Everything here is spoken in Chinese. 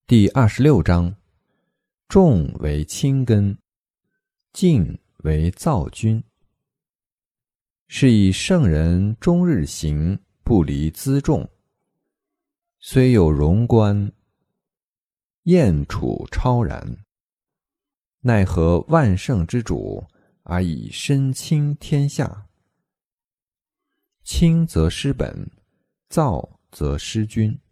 第26章：重为轻根，静为躁君。是以圣人终日行，不离辎重。虽有荣观，燕处超然。奈何万圣之主，而以身轻天下？轻则失本，躁则失君。